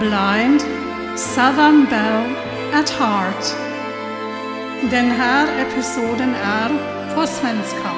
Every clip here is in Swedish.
Blind Southern Belle at Heart. Den här episoden är på svenska.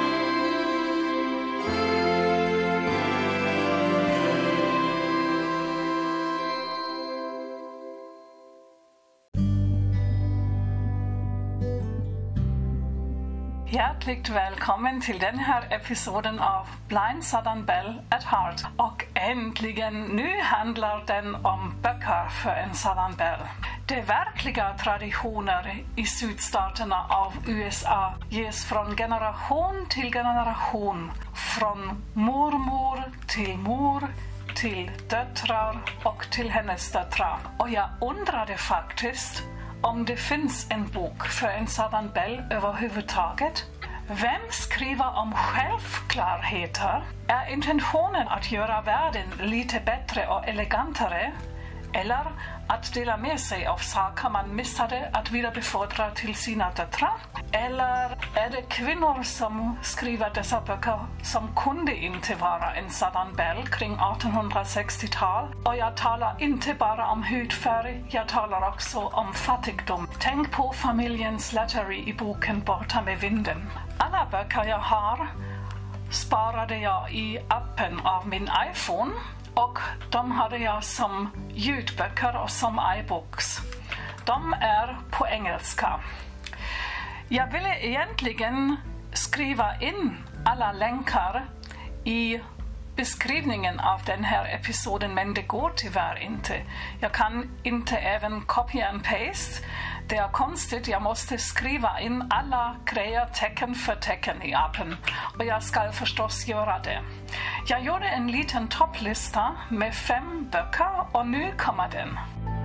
Hjärtligt välkommen till den här episoden av Blind Southern Belle at Heart. Och äntligen, nu handlar den om böcker för en Southern Belle. De verkliga traditioner i sydstaterna av USA ges från generation till generation. Från mormor till mor, till döttrar och till hennes döttrar. Och jag undrade faktiskt om det finns en bok för en Southern Belle överhuvudtaget. Vem skriver om självklarheter? Är intentionen att göra världen lite bättre och elegantare? Eller att dela med sig av saker man missade att vidarebefordra till sina döttrar? Eller är det kvinnor som skriver dessa böcker som kunde inte vara en Southern Belle kring 1860-tal? Och jag talar inte bara om hudfärg, jag talar också om fattigdom. Tänk på familjen Slattery i boken Borta med vinden. Alla böcker jag har sparade jag i appen av min iPhone. Och de hade jag som ljudböcker och som iBooks. De är på engelska. Jag ville egentligen skriva in alla länkar i beskrivningen av den här episoden, men det går tyvärr inte. Jag kan inte även copy and paste. Det är konstigt, jag måste skriva in alla grejer tecken för tecken i appen. Och jag ska förstås göra det. Jag gjorde en liten topplista med 5 böcker och nu kommer den.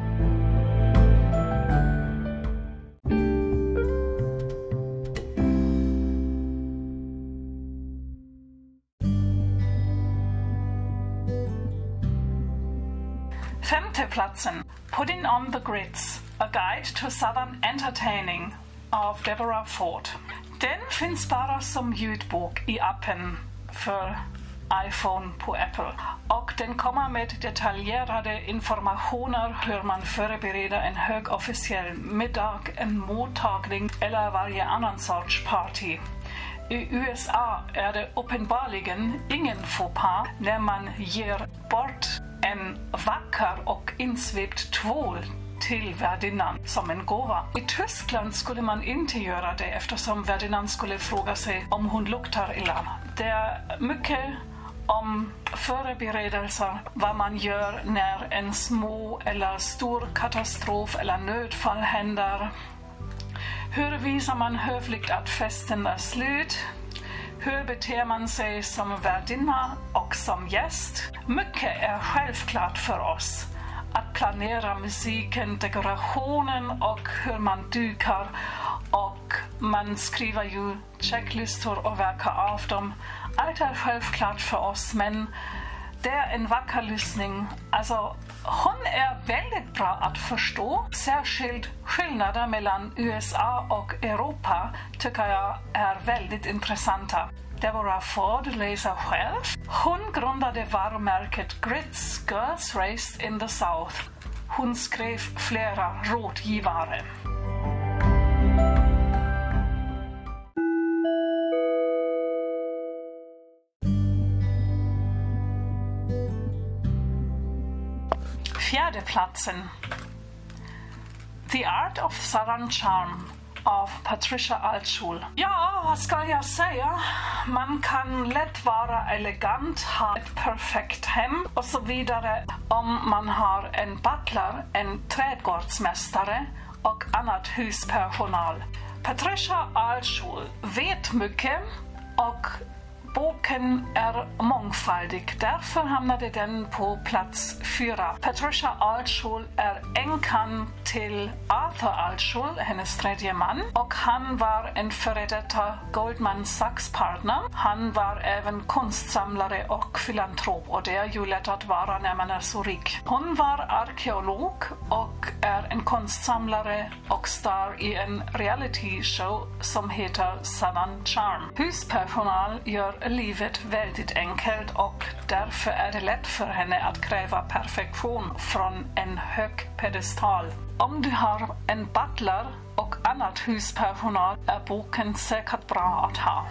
Femte platsen, Putting on the Grits, A Guide to Southern Entertaining av Deborah Ford. Den finns bara som ljudbok i appen för iPhone på Apple. Och den kommer med detaljerade informationer hur man förbereder en högofficiell middag, en mottagning eller varje annan sorts party. I USA är det uppenbarligen ingen faux pas när man ger bort en vacker och insvept tvål till värdinnan som en gåva. I Tyskland skulle man inte göra det eftersom värdinnan skulle fråga sig om hon luktar illa. Det är mycket om förberedelser, vad man gör när en små eller stor katastrof eller nödfall händer. Hur visar man hövligt att festen är slut? Hur beter man sig som värdinna och som gäst? Mycket är självklart för oss. Att planera musiken, dekorationen och hur man dukar. Och man skriver ju checklistor och verkar av dem. Allt är självklart för oss, men det är en vacker lyssning. Alltså, hon är väldigt bra att förstå. Särskilt skillnader mellan USA och Europa tycker jag är väldigt intressanta. Deborah Ford läser själv. Hon grundade varumärket Grits Girls Raised in the South. Hon skrev flera rådgivare. Fjärde platsen, The Art of Southern Charm av Patricia Altschul. Ja, vad ska jag säga? Man kan lätt vara elegant, ha ett perfekt hem och så vidare om man har en butler, en trädgårdsmästare och annat huspersonal. Patricia Altschul vet mycket och boken är mångfaldig, därför hamnade den på plats 4. Patricia Altschul är änkan till Arthur Altschul, hennes tredje man, och han var en före detta Goldman Sachs-partner. Han var även konstsamlare och filantrop, och det är ju lätt att vara när man är så rik. Hon var arkeolog och är en konstsamlare och star i en reality show som heter Southern Charm. Huspersonal gör livet väldigt enkelt och därför är det lätt för henne att kräva perfektion från en hög pedestal. Om du har en butler och annat huspersonal är boken säkert bra att ha.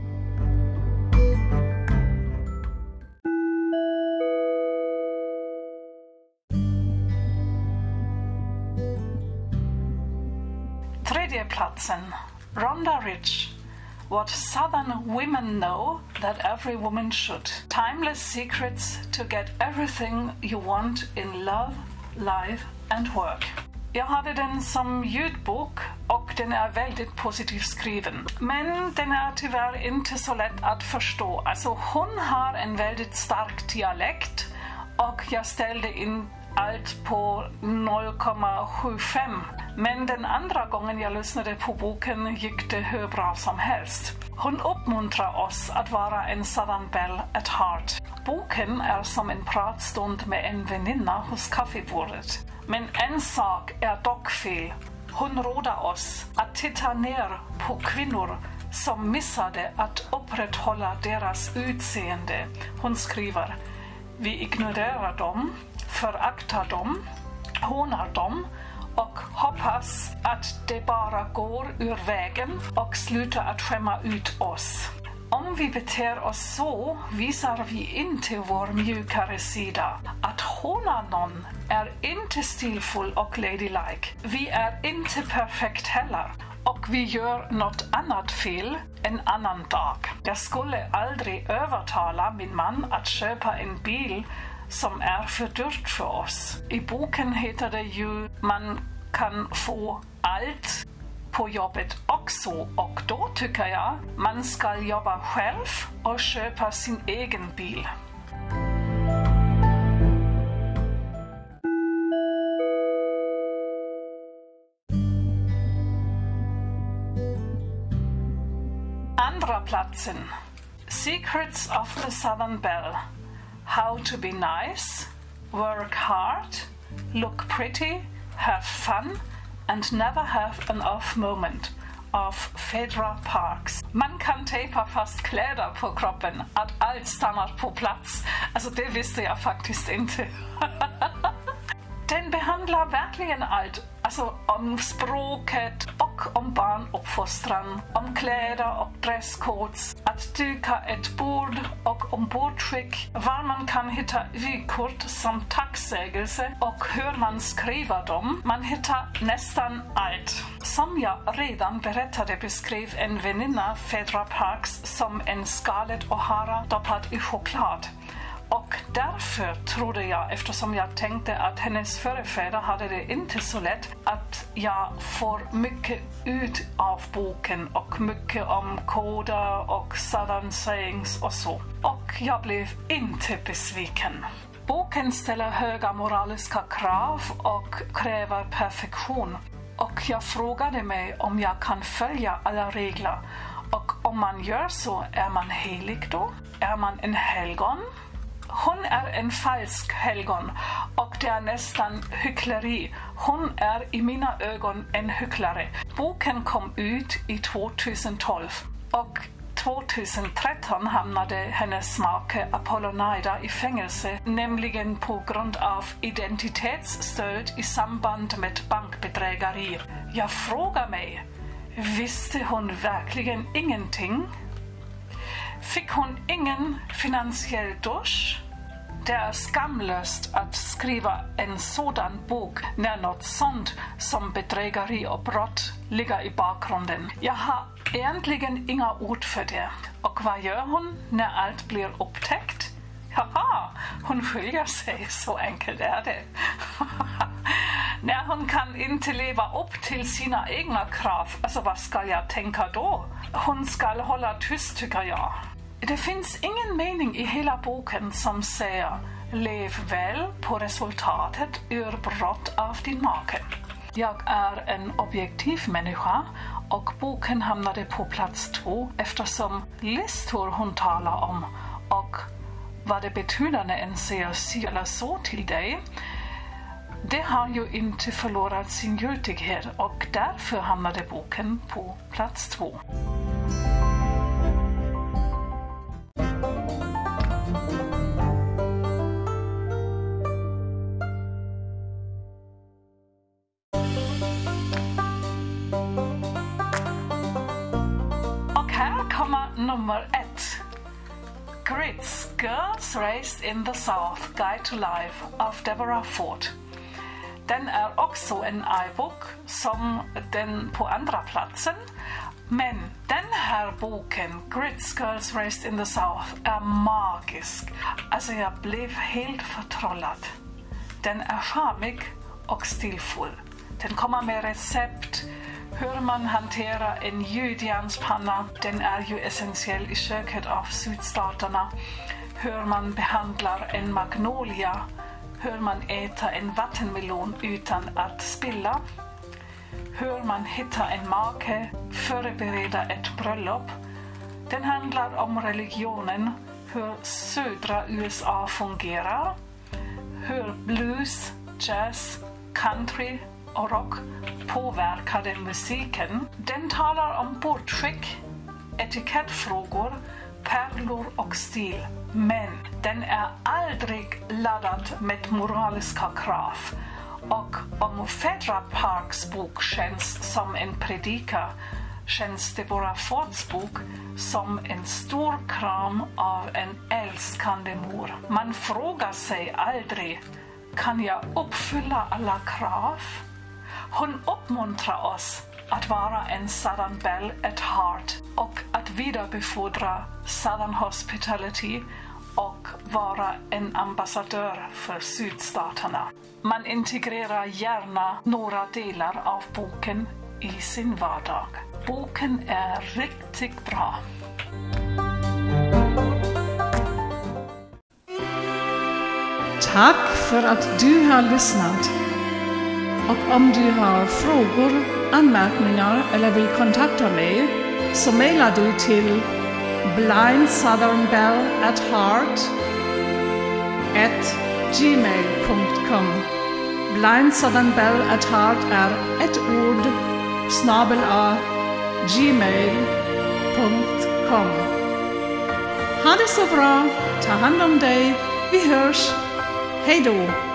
Tredje platsen, Rhonda Rich. What Southern women know that every woman should. Timeless secrets to get everything you want in love, life and work. Jag hade den som ljudbok och den är väldigt positivt skriven. Men den är tyvärr inte så lätt att förstå. Alltså hon har en väldigt stark dialekt och jag ställde in allt på 0,75. Men den andra gången jag lyssnade på boken gick det hur bra som helst. Hon uppmuntrar oss att vara en Southern Belle at heart. Boken är som en pratstund med en väninna hos kaffebordet. Men en sak är dock fel. Hon råder oss att titta ner på kvinnor som missade att upprätthålla deras utseende. Hon skriver: vi ignorerar dem, föraktar dem, hånar dem och hoppas att det bara går ur vägen och slutar att skämma ut oss. Om vi beter oss så visar vi inte vår mjukare sida. Att håna någon är inte stilfull och ladylike. Vi är inte perfekt heller. Och vi gör något annat fel en annan dag. Jag skulle aldrig övertala min man att köpa en bil som är för dyrt för oss. I boken heter det ju man kan få allt på jobbet också och då tycker jag man ska jobba själv och köpa sin egen bil. Andra platsen. Secrets of the Southern Belle. How to be nice, work hard, look pretty, have fun and never have an off moment av Phaedra Parks. Man kan tejpa fast kläder på kroppen att allt stannar på plats. Alltså det visste jag faktiskt inte. Den behandlar verkligen allt. Alltså om språket och om barnuppfostran, om kläder och dresscodes, att duka ett bord och ombordskick, var man kan hitta vykort som tacksägelse och hur man skriver dem. Man hittar nästan allt. Som jag redan berättade beskrev en väninna Phaedra Parks som en Scarlett O'Hara doppad i choklad. Och därför trodde jag, eftersom jag tänkte att hennes förfäder hade det inte så lätt, att jag får mycket ut av boken och mycket om koder och southern sayings och så. Och jag blev inte besviken. Boken ställer höga moraliska krav och kräver perfektion. Och jag frågade mig om jag kan följa alla regler. Och om man gör så, är man helig då? Är man en helgon? Hon är en falsk helgon och det är nästan hyckleri. Hon är i mina ögon en hycklare. Boken kom ut i 2012 och 2013 hamnade hennes make Apollonida i fängelse, nämligen på grund av identitetsstöd i samband med bankbedrägeri. Jag frågar mig, visste hon verkligen ingenting? Fick hon ingen finansiell dusch? Det är skamlöst att skriva en sådan bok när något sånt som bedrägeri och brott ligger i bakgrunden. Jag har egentligen inga ord för det. Och vad gör hon när allt blir upptäckt? Haha, hon skiljer sig, så enkelt är det. När hon kan inte leva upp till sina egna krav, alltså vad ska jag tänka då? Hon ska hålla tyst tycker jag. Det finns ingen mening i hela boken som säger lev väl på resultatet ur brott av din make. Jag är en objektiv människa och boken hamnade på plats 2 eftersom listor hon talar om och vad det betyder när en säger si eller så till dig. Det har ju inte förlorat sin giltighet och därför hamnade boken på plats 2. nummer 1. Grits, Girls Raised in the South, Guide to Life av Deborah Ford. Den också en iBook som den på andra platsen. Men den här boken, Grits, Girls Raised in the South, är magisk. Alltså jag blev helt förtrollad. Den är charmig och stilfull. Den kommer med recept, hur man hanterar en gjutjärnspanna. Den är ju essentiell i köket av sydstaterna. Hur man behandlar en magnolia. Hur man äter en vattenmelon utan att spilla. Hur man hittar en make, förbereder ett bröllop. Den handlar om religionen, hur södra USA fungerar. Hur blues, jazz, country och rock påverkade musiken. Den talar om bordsskick, etikettfrågor, pärlor och stil. Men den är aldrig laddad med moraliska krav. Och om Phaedra Parks bok känns som en predika, känns Deborah Fords bok som en stor kram av en älskande mor. Man frågar sig aldrig, kan jag uppfylla alla krav? Hon uppmuntrar oss att vara en Southern Belle at Heart och att vidarebefordra Southern Hospitality och vara en ambassadör för sydstaterna. Man integrerar gärna några delar av boken i sin vardag. Boken är riktigt bra. Tack för att du har lyssnat. Och om du har frågor, anmärkningar eller vill kontakta mig så mejlar du till blindsouthernbelle@gmail.com. Blindsouthernbelle@heart är ett ord /gmail.com. Ha det så bra, ta hand om dig, vi hörs, hej då!